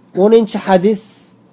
10-hadis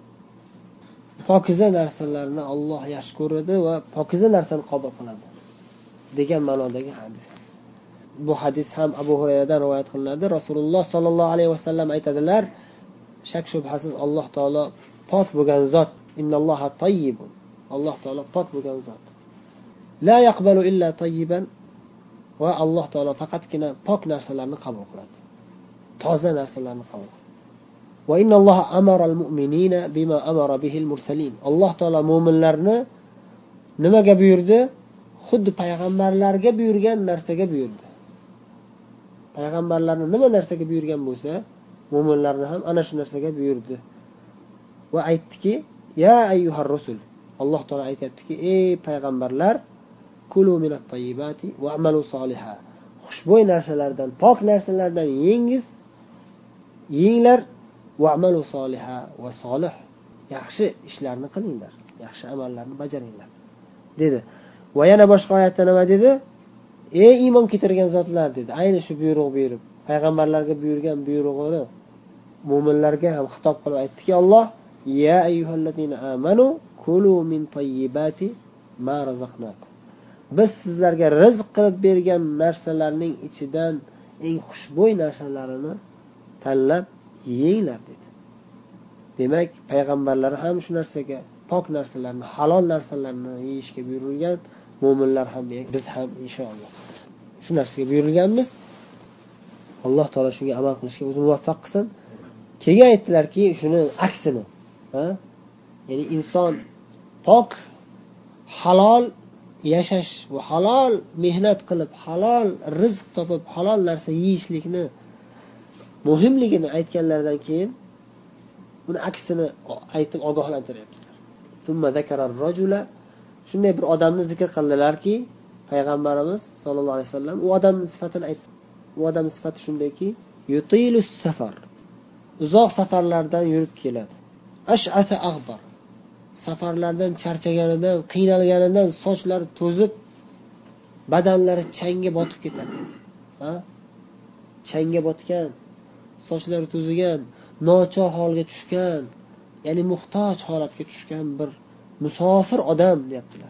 pokiza narsalarni Alloh yaxshi ko'radi va pokiza narsani qabul qiladi degan ma'nodagi hadis. Bu hadis ham Abu Hurayradan rivoyat qilinadi. Rasululloh sollallohu alayhi vasallam aytadilar: shak shubhasiz Alloh taolo pok bo'lgan zot. Innalloha tayyibun. Alloh taolo pok bo'lgan zot. La yaqbalu illa tayyiban. Va Alloh taolo faqatgina pok narsalarni qabul qiladi. Toza narsalarni qabul qiladi. Va innalloha amara al-mu'minina bima amara bihi al-mursalin. Alloh taolo mu'minlarni nimaga buyurdi? Xuddi payg'ambarlarga buyurgan narsaga buyurdi. Payg'ambarlarni nima narsaga buyurgan bo'lsa, mu'minlarni ham ana shu narsaga buyurdi. Va aytdiki: "Ya ayyuhar rusul." Alloh taolo aytayaptiki: "Ey payg'ambarlar, kulu minat tayyibati wa'malu solihan." Xushbo'y narsalardan, pok narsalardan yenglar, wa'malu solihan va solih, yaxshi ishlarni qilinglar, yaxshi amallarni bajaringlar dedi. Va yana boshqa oyatda nima dedi? Ey iymon keltirgan zotlar dedi. Ayni shu buyruq berib, payg'ambarlarga buyurgan buyrug'ini mu'minlarga ham xitob qilib aytdiki Alloh: "Ya ayyuhallazina amanu kulu min tayyibati ma razaqnakum." Biz sizlarga rizq qilib bergan narsalarning ichidan eng xushbo'y narsalarini tanlab yenglar dedi. Demak, payg'ambarlar ham shu narsaga, pok narsalarni, halol narsalarni yeyishga buyurilgan, mu'minlar ham, biz ham inshaalloh shu narsaga buyurilganmiz. Alloh taolo shunga amal qilishga o'zi muvaffaq qilsin. Keyin aytdilarki, shuni aksini, ya'ni inson pok, halol yashash va halol mehnat qilib, halol rizq topib, halol narsa yeyishlikni muhimligini aytganlaridan keyin buni aksini aytib ogohlantiryaptilar. Thumma zakarar rajula, shunday bir odamni zikr qildilarki, payg'ambarimiz sollallohu alayhi vasallam u odamning sifatini aytdi. U odamning sifati shundayki, yutilus safar, uzoq safarlardan yurib keladi. Ash'ata aghbar, safarlardan charchaganidan, qiynalganidan sochlari to'zib, badanlari changga botib ketadi. Changga botgan, sochlari to'zigan, nochor holga tushgan, ya'ni muhtoj holatga tushgan bir musofir odam deyaptilar.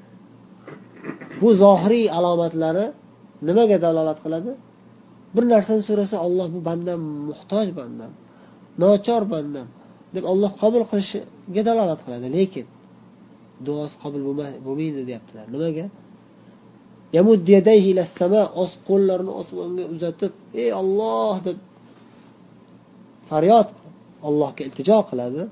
Bu zohiriy alomatlari nimaga dalolat qiladi? Bir narsani so'rasa Alloh, bu bandam muhtoj bandam, nochor bandam deb Alloh qabul qilishiga dalolat qiladi, lekin duosi qabul bo'lmaydi deyaptilar. Nimaga? Yamud yadayhi ila sama, qo'llarini osmonga uzatib, ey Alloh deb faryod Allohga iltijo qiladi.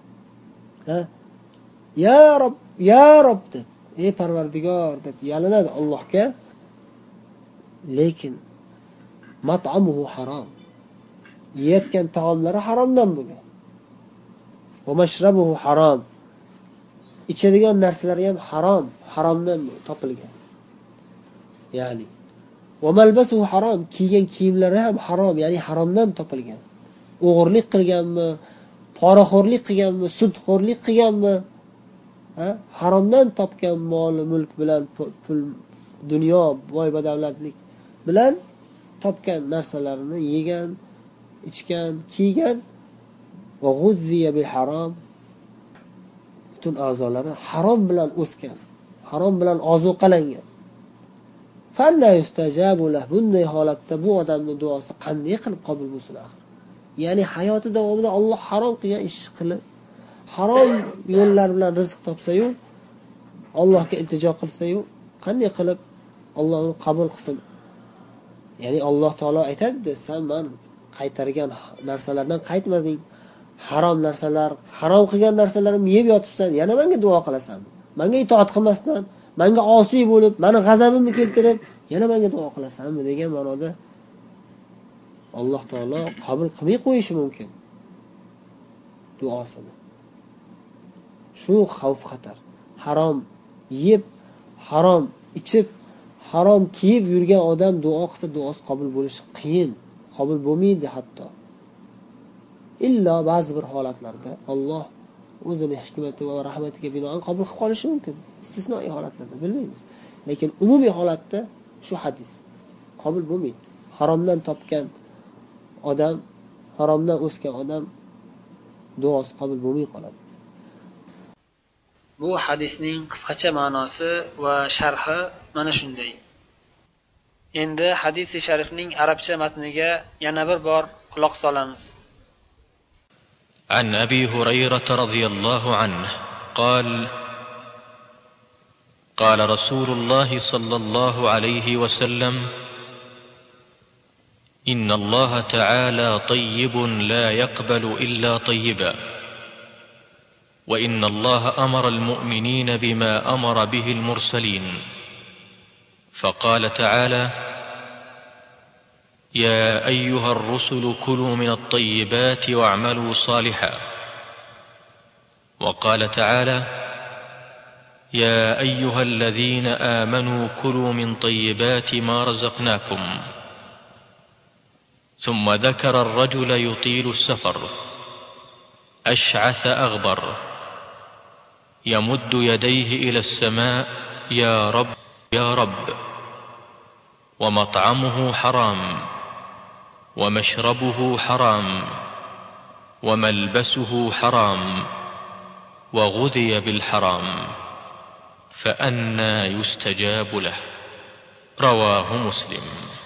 Ya Rob, ya Rob deb, ey Parvardigor deb yalinadi Allohga. Lekin mat'amuhu harom. Yeyotgan taomlari haromdan bo'lgan. Va mashrabuhu harom. Ichadigan narsalari ham harom, haromdan topilgan. Ya'ni va malbasuhu harom, kiygan kiyimlari ham harom, ya'ni haromdan topilgan. O'g'irlik qilganmi, poraxo'rlik qilganmi, sudxo'rlik qilganmi, haromdan topgan mol, mulk bilan, pul, dunyo, boy badavlatlik bilan topgan narsalarini yegan, ichgan, kiygan. Va g'uzziya bil harom, butun a'zolari harom bilan o'sgan, harom bilan ozuqalangan. Fanna yustajabu lahu, bunday holatda bu odamning duosi qanday qilib qabul bo'lsin axir? Ya'ni hayoti davomida Alloh harom qilgan ish qilib, harom yo'llar bilan rizq topsa-yu, Allohga iltijo qilsa-yu, qanday qilib Alloh uni qabul qilsin? Ya'ni Alloh taolo aytadi, sen men qaytargan narsalardan qaytmading. Harom narsalar, harom qilgan narsalarimni yeb yotibsan, yana menga duo qilasanmi? Menga itoat qilmasdan, menga osiy bo'lib, meni g'azabimni keltirib, yana menga duo qilasanmi degan ma'noda Alloh taolo qabul qilmay qo'yishi mumkin duosini. Shu xavf xatar. Harom yeb, harom ichib, harom kiyib yurgan odam duo qilsa, duosi qabul bo'lishi qiyin, qabul bo'lmaydi hatto. Illo ba'zi bir holatlarda Alloh o'zining hikmati va rahmatiga binoan qabul qilib qolishi mumkin. Istisnoiy holatlarda bilmaymiz. Lekin umumiy holatda shu hadis qabul bo'lmaydi. Haromdan topgan odam, haromdan o'sgan odam duosi qabul bo'lmay qoladi. Bu hadisning qisqacha ma'nosi va sharhi mana shunday. Endi hadis-i sharifning arabcha matniga yana bir bor quloq solamiz. عن أبي هريرة رضي الله عنه قال: قال رسول الله صلى الله عليه وسلم: إن الله تعالى طيب لا يقبل إلا طيبا، وإن الله أمر المؤمنين بما أمر به المرسلين، فقال تعالى: يا أيها الرسل كلوا من الطيبات واعملوا صالحا، وقال تعالى: يا أيها الذين آمنوا كلوا من طيبات ما رزقناكم. ثم ذكر الرجل يطيل السفر أشعث أغبر يمد يديه إلى السماء: يا رب يا رب، ومطعمه حرام، ومشربه حرام، وملبسه حرام، وغذي بالحرام، فأنى يستجاب له. رواه مسلم.